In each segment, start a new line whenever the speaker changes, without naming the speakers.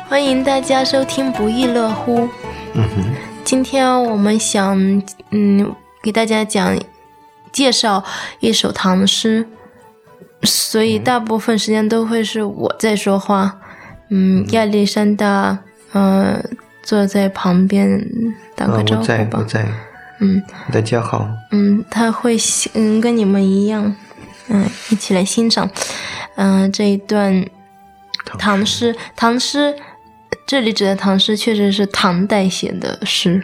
欢迎大家收听不亦乐乎。今天我们想给大家介绍一首唐诗，所以大部分时间都会是我在说话。亚历山大坐在旁边打个招呼吧。
我在大家好。
他会跟你们一样一起来欣赏这一段唐诗。唐诗这里指的唐诗确实是唐代写的诗。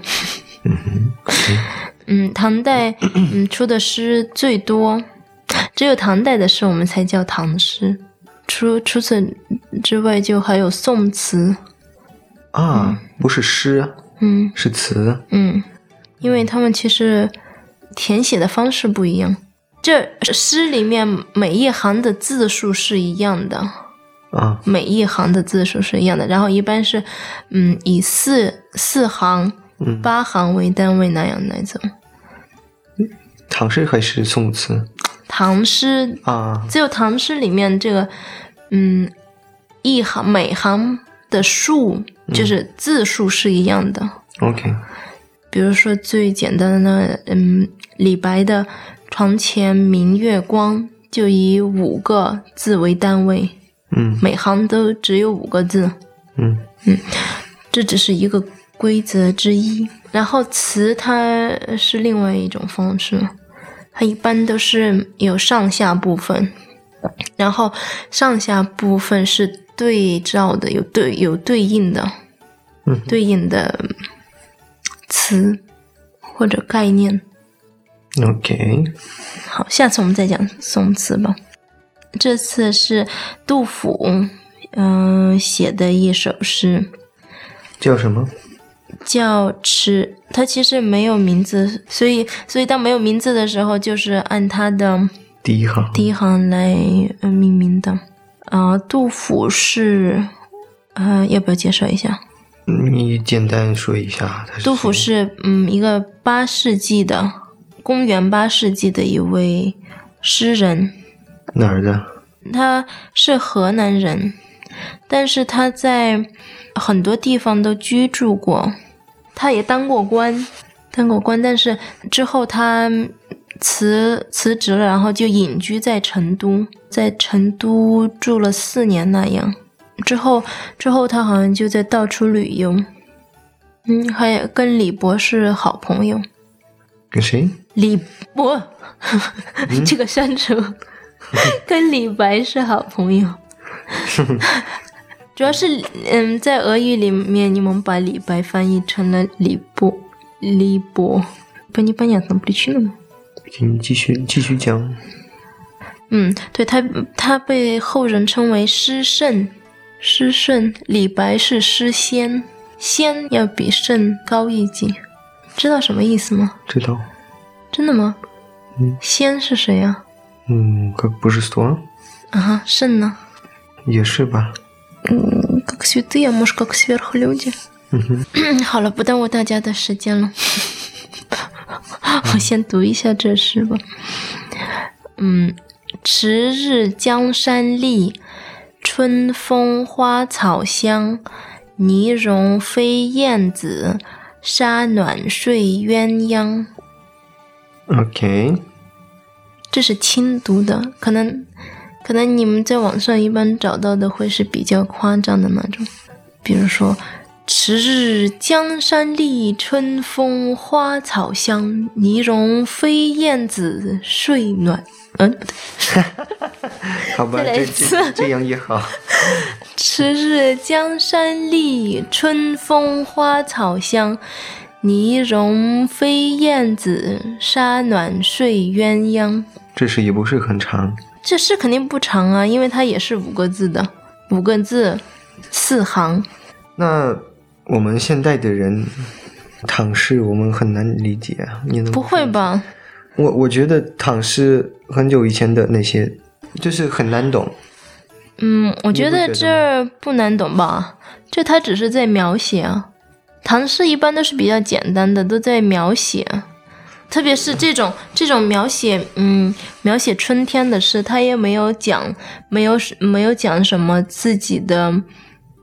唐代出的诗最多，只有唐代的诗我们才叫唐诗，除此之外就还有宋词
不是诗是词。
因为他们其实填写的方式不一样，这诗里面每一行的字数是一样的每一行的字数是一样的，然后一般是以四行8行为单位那样来走。
唐诗还是宋词？
唐诗只有唐诗里面这个一行每行的数就是字数是一样的。
OK，
比如说最简单的李白的床前明月光就以5个字为单位，每行都只有5个字。这只是一个规则之一。然后词它是另外一种方式，它一般都是有上下部分，然后上下部分是对照的，有对应的对应的词或者概念。
OK，
好，下次我们再讲宋词吧。这次是杜甫写的一首诗，
叫什么？
叫迟。它其实没有名字，所以当没有名字的时候就是按它的第一行来命名的。杜甫是要不要介绍一下？
你简单说一下。
杜甫是一个公元8世纪的一位诗人。
哪儿的？
他是河南人，但是他在很多地方都居住过，他也当过官，但是之后他辞职了，然后就隐居在成都，在成都住了4年那样。之后他好像就在到处旅游。还跟李博是好朋友。
跟谁？
李博这个删除跟李白是好朋友。主要是在俄语里面你们把李白翻译成了李博。Понятно причину。
你继续讲。
对，他被后人称为诗圣。李白是诗仙，仙要比圣高一级。知道什么意思吗？
知道。
真的吗？仙是谁啊
как божество。
圣呢？
也是吧。
как святые, а может как сверхлюди。好了，不耽误大家的时间了。我先读一下这诗吧。迟日江山丽，春风花草香，泥融飞燕子，沙暖睡鸳鸯。
OK，
这是轻读的，可能你们在网上一般找到的会是比较夸张的那种，比如说迟日江山丽，春风花草香，泥融飞燕子，睡暖。
好吧，这样也好。
迟日江山丽，春风花草香，泥融飞燕子，沙暖睡鸳鸯。
这诗也不是很长。
这诗肯定不长啊，因为它也是5个字的，5个字4行。
那我们现代的人唐诗我们很难理解啊，你能
不会吧？
我觉得唐诗很久以前的那些就是很难懂。
我觉得这不难懂吧？这它只是在描写啊。唐诗一般都是比较简单的，都在描写。特别是这种描写春天的诗，他也没有讲什么自己的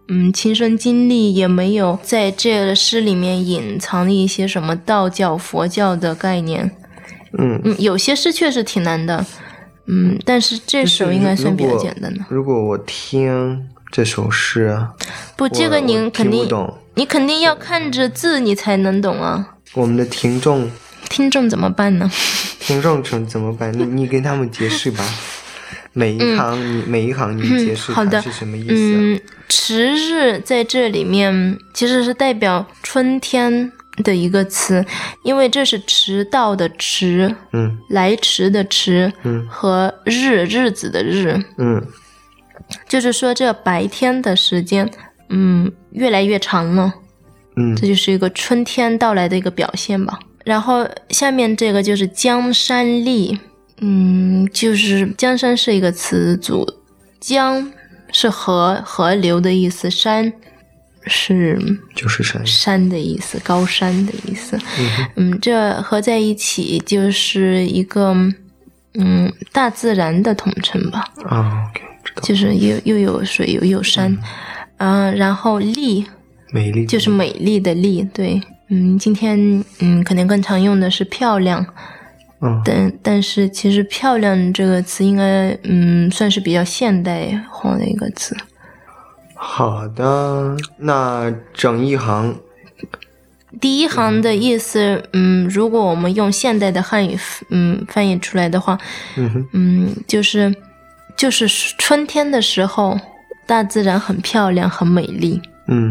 亲身经历，也没有在这个诗里面隐藏一些什么道教、佛教的概念。有些诗确实挺难的，但是这首应该算比较简单的。
如果我听这首诗啊，
不，这个你肯定要看着字你才能懂啊。
我们的听众
怎么办呢？
听众怎么办？你跟他们解释吧。每一行你解释它是什么意思？
迟日在这里面其实是代表春天的一个词，因为这是迟到的迟，来迟的迟，和日子的日，就是说这白天的时间，越来越长了，这就是一个春天到来的一个表现吧。然后下面这个就是江山丽，就是江山是一个词组，江是河流的意思，山
就是
山的意思，高山的意思。这合在一起就是一个大自然的统称吧。
OK， 知道。
就是又有水又有山，然后丽，
美丽
就是美丽的丽，对。今天可能更常用的是漂亮。但是其实漂亮这个词应该算是比较现代化的一个词。
好的，那整一行
第一行的意思，如果我们用现代的汉语翻译出来的话，就是春天的时候大自然很漂亮很美丽。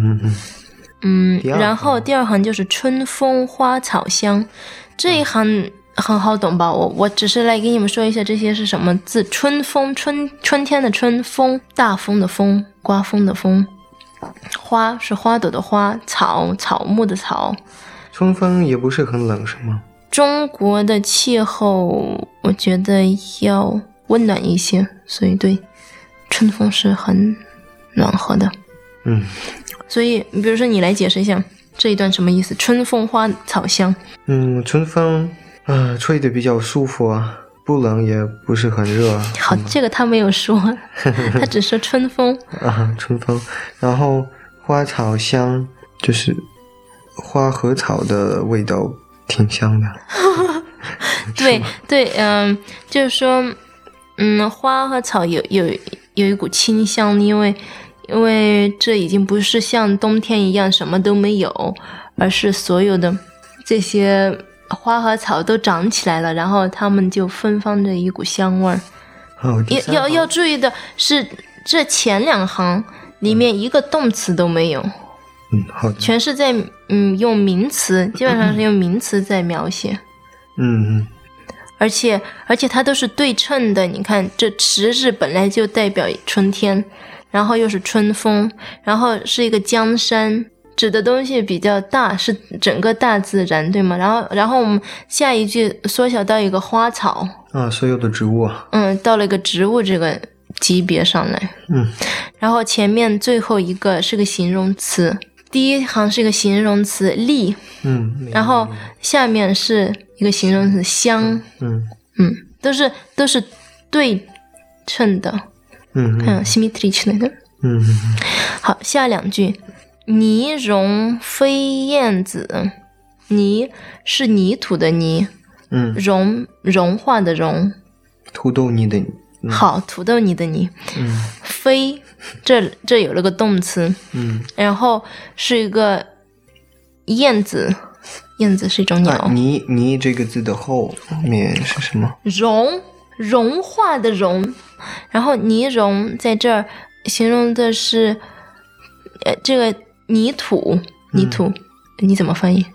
然后第二行就是春风花草香，这一行很好懂吧？我只是来给你们说一下这些是什么字。春风，春天的春，风大风的风，刮风的风，花是花朵的花，草木的草。
春风也不是很冷是吗？
中国的气候我觉得要温暖一些，所以对春风是很暖和的。所以比如说你来解释一下这一段什么意思？春风花草香。
春风吹得比较舒服啊，不冷也不是很热。
好，这个他没有说，他只说春风。
春风。然后花草香，就是花和草的味道挺香的。
对，就是说花和草有一股清香，因为这已经不是像冬天一样什么都没有，而是所有的这些花和草都长起来了，然后它们就芬芳着一股香味儿。要注意的是，这前两行里面一个动词都没有。
好的。
全是在用名词，基本上是用名词在描写。而且它都是对称的。你看，这迟日本来就代表春天，然后又是春风，然后是一个江山，指的东西比较大，是整个大自然，对吗？然后我们下一句缩小到一个花草
所有的植物
到了一个植物这个级别上来。然后前面最后一个是个形容词，第一行是一个形容词丽，然后下面是一个形容词香，都是对称的。看 symmetric 的。好，下两句，泥融飞燕子，泥是泥土的泥，融化的融，
土豆泥的泥。
好，土豆泥的泥。飞，这有了个动词，然后是一个燕子，燕子是一种鸟。
泥这个字的后面是什么？
融化的融。然后泥融在这儿形容的是这个泥土，你怎么翻译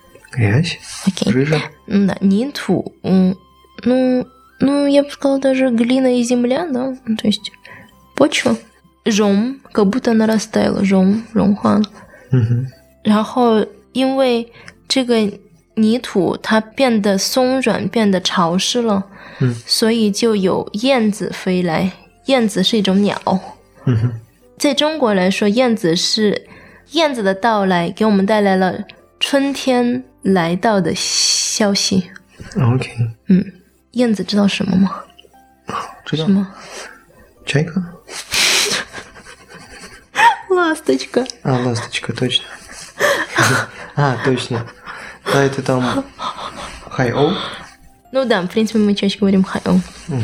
？OK，
泥土，я бы сказала даже глина и земля, да, то есть почва. как будто она растаяла, 融化了。然后因为这个泥土它变得松软，变得潮湿了，所以就有燕子飞来。燕子是一种鸟。在中国来说，燕子的到来给我们带来了春天来到的消息。
OK。
燕子知道什么吗？
知道。
什么？
这个？
Ласточка.
Ласточка, точно. Точно. Да, это там хайоу.
Ну да, в принципе, мы чаще говорим хайоу.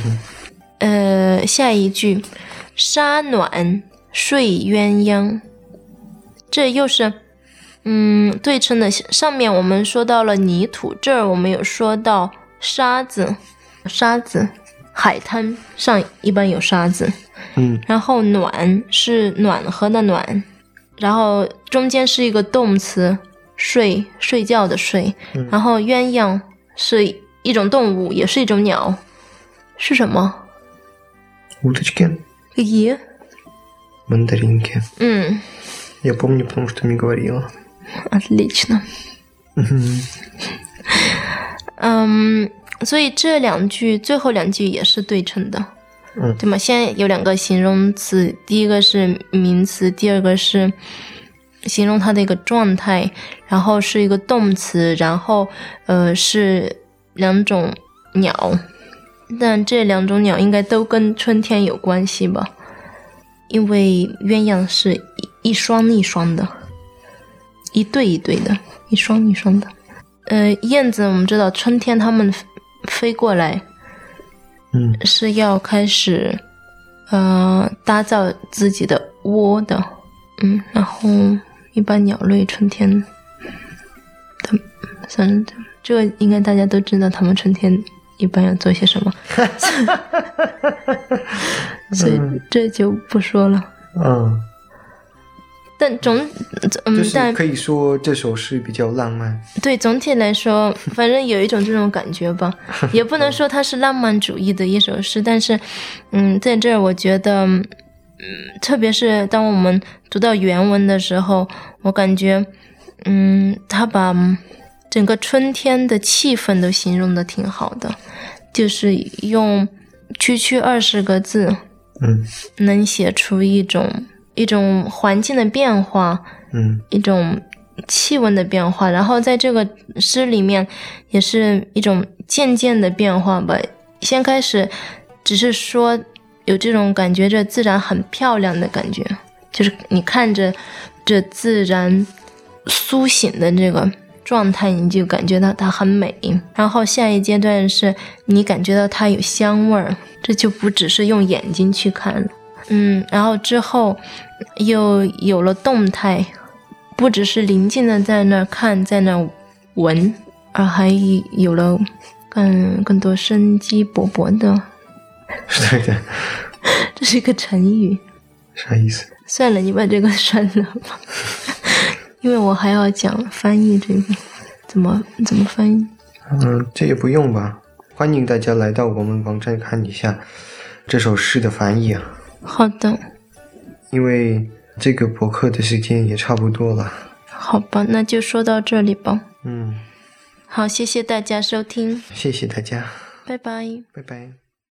下一句沙暖睡鸳鸯，这又是对称的。上面我们说到了泥土，这儿我们有说到沙子，海滩上一般有沙子。然后暖是暖和的暖，然后中间是一个动词睡觉的睡，然后鸳鸯是一种动物，也是一种鸟，是什么
？Уточки.
Какие?
Мандаринки. Я помню, потому что мне говорила.
Отлично. 所以这两句最后两句也是对称的，对吗？现在有两个形容词，第一个是名词，第二个是形容它的一个状态，然后是一个动词，然后是两种鸟，但这两种鸟应该都跟春天有关系吧？因为鸳鸯是一双一双的，一对一对的，一双一双的。燕子我们知道春天它们飞过来，是要开始打造自己的窝的，然后一般鸟类春天这个应该大家都知道，他们春天一般要做些什么，所以这就不说了。但
就是可以说这首诗比较浪漫。
对，总体来说，反正有一种这种感觉吧，也不能说它是浪漫主义的一首诗，但是，在这儿我觉得，特别是当我们读到原文的时候，我感觉，他把整个春天的气氛都形容的挺好的，就是用区20个字，能写出一种环境的变化，一种气温的变化，然后在这个诗里面也是一种渐渐的变化吧。先开始只是说有这种感觉，这自然很漂亮的感觉，就是你看着这自然苏醒的这个状态，你就感觉到它很美。然后下一阶段是你感觉到它有香味儿，这就不只是用眼睛去看了。然后之后又有了动态，不只是宁静的在那看，在那闻，而还有了更多生机勃勃的。
对的，
这是一个成语。
啥意思？
算了，你把这个删了吧，因为我还要讲翻译这个，怎么翻译？
这也不用吧。欢迎大家来到我们网站看一下这首诗的翻译啊。
好的，
因为这个博客的时间也差不多了。
好吧，那就说到这里吧。
嗯，
好，谢谢大家收听。
谢谢大家，
拜拜。
拜拜。